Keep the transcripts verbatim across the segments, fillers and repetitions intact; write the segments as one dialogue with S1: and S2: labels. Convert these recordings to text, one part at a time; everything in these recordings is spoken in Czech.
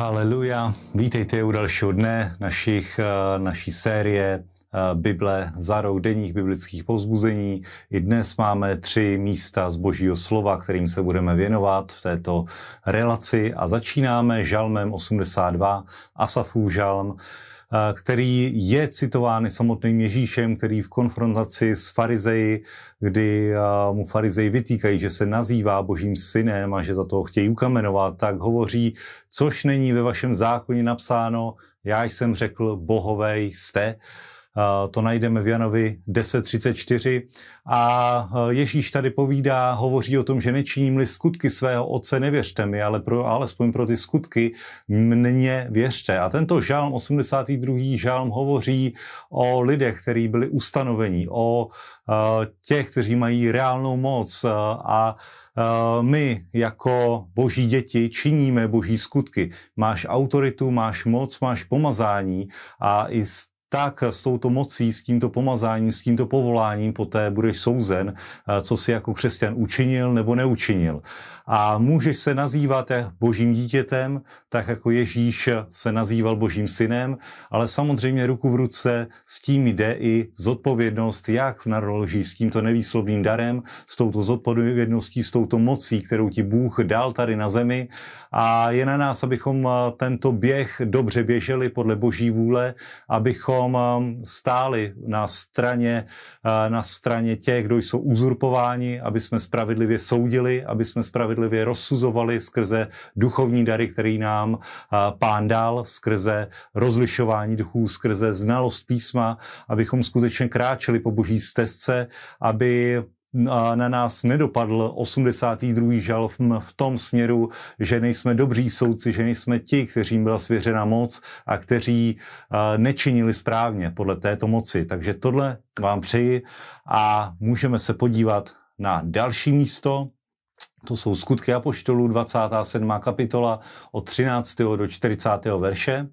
S1: Haleluja, vítejte u dalšího dne našich, naší série Bible za rok, denních biblických povzbuzení. I dnes máme tři místa z Božího slova, kterým se budeme věnovat v této relaci a začínáme žalmem osmdesát dva, Asafův žalm, který je citován samotným Ježíšem, který v konfrontaci s farizeji, kdy mu farizeji vytýkají, že se nazývá Božím synem a že za toho chtějí ukamenovat, tak hovoří, což není ve vašem zákoně napsáno, já jsem řekl, bohové jste. To najdeme v Janovi deset třicet čtyři a Ježíš tady povídá, hovoří o tom, že nečiním-li skutky svého otce, nevěřte mi, ale pro, alespoň pro ty skutky mně věřte. A tento žalm, osmdesátý druhý žalm, hovoří o lidech, kteří byli ustanovení, o uh, těch, kteří mají reálnou moc a uh, my jako boží děti činíme boží skutky. Máš autoritu, máš moc, máš pomazání a i z tak s touto mocí, s tímto pomazáním, s tímto povoláním poté budeš souzen, co si jako křesťan učinil nebo neučinil. A můžeš se nazývat božím dítětem, tak jako Ježíš se nazýval božím synem, ale samozřejmě ruku v ruce s tím jde i zodpovědnost, jak naloží s tímto nevýslovným darem, s touto zodpovědností, s touto mocí, kterou ti Bůh dal tady na zemi. A je na nás, abychom tento běh dobře běželi podle boží vůle, abychom stáli na straně, na straně těch, kdo jsou uzurpováni, aby jsme spravedlivě soudili, aby jsme spravedlivě rozsuzovali skrze duchovní dary, který nám Pán dal, skrze rozlišování duchů, skrze znalost písma, abychom skutečně kráčeli po boží stezce, aby na nás nedopadl osmdesátý druhý žalm v tom směru, že nejsme dobří soudci, že nejsme ti, kteřím byla svěřena moc a kteří nečinili správně podle této moci. Takže tohle vám přeji a můžeme se podívat na další místo. To jsou Skutky apoštolů, dvacátá sedmá kapitola od třináctého do čtyřicátého verše,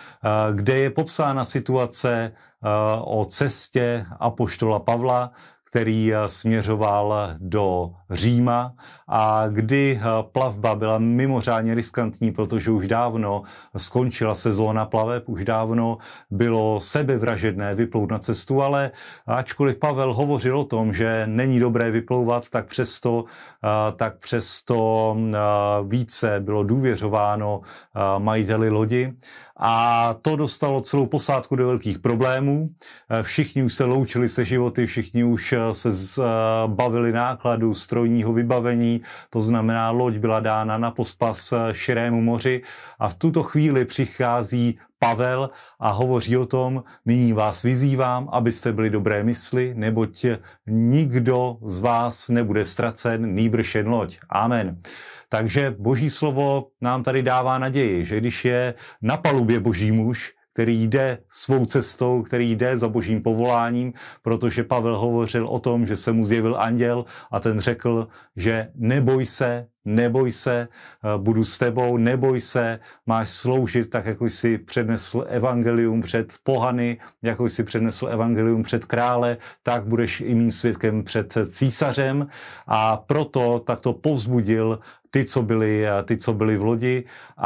S1: kde je popsána situace o cestě apoštola Pavla, který směřoval do Říma a kdy plavba byla mimořádně riskantní, protože už dávno skončila sezóna plaveb, už dávno bylo sebevražedné vyplout na cestu, ale ačkoliv Pavel hovořil o tom, že není dobré vyplouvat, tak přesto, tak přesto více bylo důvěřováno majiteli lodi a to dostalo celou posádku do velkých problémů. Všichni už se loučili se životy, všichni už se zbavili nákladu, strojního vybavení, to znamená, loď byla dána na pospas širému moři a v tuto chvíli přichází Pavel a hovoří o tom, nyní vás vyzývám, abyste byli dobré mysli, neboť nikdo z vás nebude ztracen, nýbrž jen loď. Amen. Takže boží slovo nám tady dává naději, že když je na palubě boží muž, který jde svou cestou, který jde za božím povoláním, protože Pavel hovořil o tom, že se mu zjevil anděl a ten řekl, že neboj se, neboj se, budu s tebou, neboj se, máš sloužit tak, jako jsi přednesl evangelium před pohany, jako jsi přednesl evangelium před krále, tak budeš i mým svědkem před císařem a proto takto povzbudil ty, co byli, ty, co byli v lodi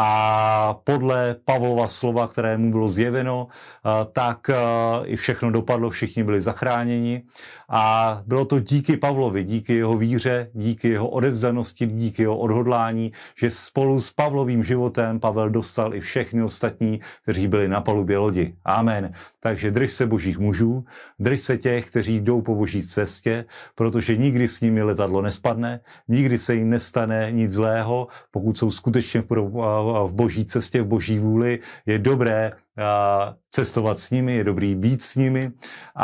S1: a podle Pavlova slova, které mu bylo zjeveno, tak i všechno dopadlo, všichni byli zachráněni a bylo to díky Pavlovi, díky jeho víře, díky jeho odevzdanosti, díky jeho odhodlání, že spolu s Pavlovým životem Pavel dostal i všechny ostatní, kteří byli na palubě lodi. Amen. Takže drž se božích mužů, drž se těch, kteří jdou po boží cestě, protože nikdy s nimi letadlo nespadne, nikdy se jim nestane nic zlého, pokud jsou skutečně v boží cestě, v boží vůli, je dobré cestovat s nimi, je dobrý být s nimi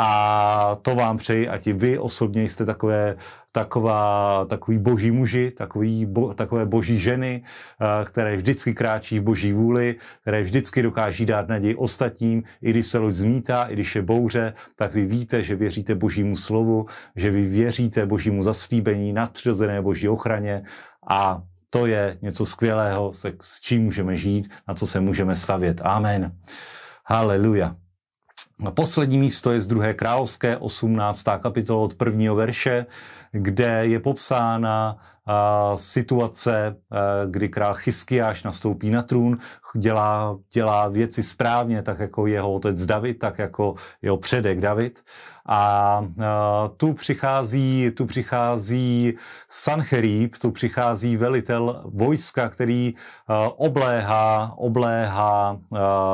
S1: a to vám přeji, ať i vy osobně jste takové, taková, takový boží muži, takový, bo, takové boží ženy, které vždycky kráčí v boží vůli, které vždycky dokáží dát naději ostatním, i když se loď zmítá, i když je bouře, tak vy víte, že věříte božímu slovu, že vy věříte božímu zaslíbení, nadpřirozené boží ochraně a to je něco skvělého, se, s čím můžeme žít, na co se můžeme stavět. Amen. Haleluja. Poslední místo je z druhé královské, osmnáctá kapitola od prvního verše, kde je popsána a, situace, a, kdy král Chyskiáš nastoupí na trůn, dělá, dělá věci správně, tak jako jeho otec David, tak jako jeho předek David. A, a tu přichází, tu přichází Sancherib, tu přichází velitel vojska, který a, obléhá, obléhá a,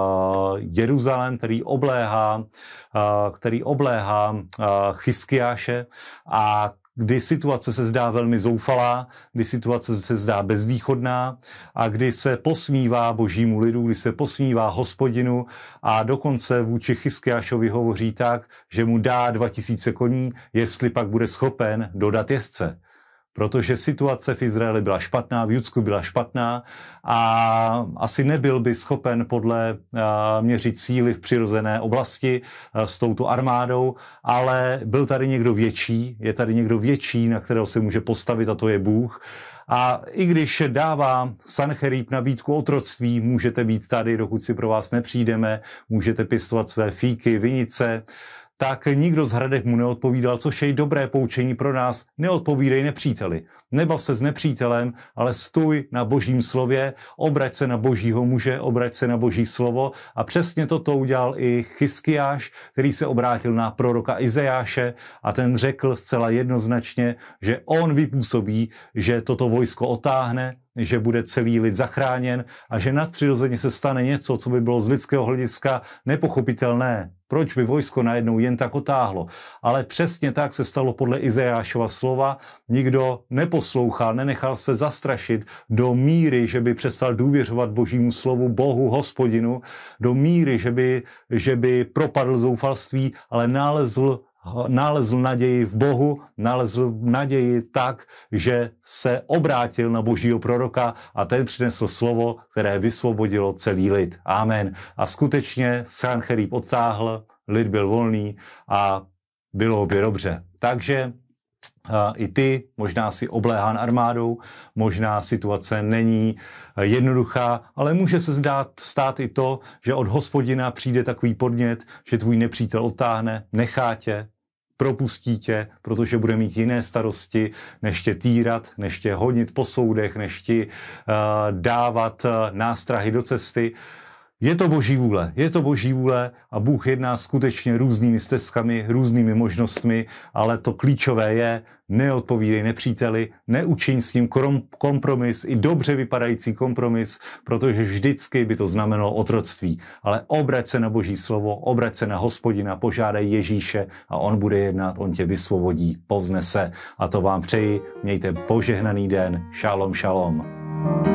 S1: Jeruzalém, který obléhá, a, který obléhá a, Chyskiáše a kdy situace se zdá velmi zoufalá, kdy situace se zdá bezvýchodná a kdy se posmívá božímu lidu, kdy se posmívá Hospodinu a dokonce vůči Chyskiášovi hovoří tak, že mu dá dva tisíce koní, jestli pak bude schopen dodat jezdce. Protože situace v Izraeli byla špatná, v Judsku byla špatná a asi nebyl by schopen podle měřit síly v přirozené oblasti s touto armádou, ale byl tady někdo větší, je tady někdo větší, na kterého se může postavit a to je Bůh. A i když dává Sancherib nabídku otroctví, můžete být tady, dokud si pro vás nepřijdeme, můžete pěstovat své fíky, vinice, tak nikdo z hradech mu neodpovídal, což je dobré poučení pro nás. Neodpovídej nepříteli. Nebav se s nepřítelem, ale stůj na božím slově, obrať se na božího muže, obrať se na boží slovo. A přesně toto udělal i Chyskiáš, který se obrátil na proroka Izajáše a ten řekl zcela jednoznačně, že on vypůsobí, že toto vojsko otáhne, že bude celý lid zachráněn a že nadpřirozeně se stane něco, co by bylo z lidského hlediska nepochopitelné. Proč by vojsko najednou jen tak otáhlo? Ale přesně tak se stalo podle Izajášova slova. Nikdo neposlouchal, nenechal se zastrašit do míry, že by přestal důvěřovat božímu slovu, Bohu, Hospodinu, do míry, že by, že by propadl zoufalství, ale nalezl nalezl naději v Bohu, nalezl naději tak, že se obrátil na božího proroka a ten přinesl slovo, které vysvobodilo celý lid. Amen. A skutečně Sancherib odtáhl, lid byl volný a bylo opět dobře. Takže i ty, možná si obléhán armádou, možná situace není jednoduchá, ale může se zdát, stát i to, že od Hospodina přijde takový podnět, že tvůj nepřítel odtáhne, nechá tě, propustí tě, protože bude mít jiné starosti, než tě týrat, než tě honit po soudech, než ti uh, dávat uh, nástrahy do cesty. Je to boží vůle, je to boží vůle a Bůh jedná skutečně různými stezkami, různými možnostmi, ale to klíčové je, neodpovídej nepříteli, neučiň s ním kompromis, i dobře vypadající kompromis, protože vždycky by to znamenalo otroctví. Ale obrať se na boží slovo, obrať se na Hospodina, požádej Ježíše a on bude jednat, on tě vysvobodí, povznese. A to vám přeji, mějte požehnaný den, šalom, šalom.